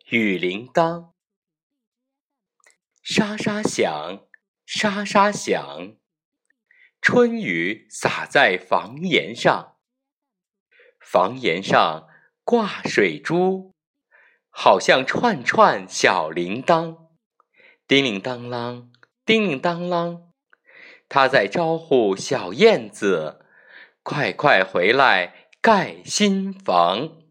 雨铃铛，沙沙响，沙沙响，春雨洒在房檐上，房檐上挂水珠，好像串串小铃铛，叮铃当啷，叮铃当啷，它在招呼小燕子，快快回来盖新房。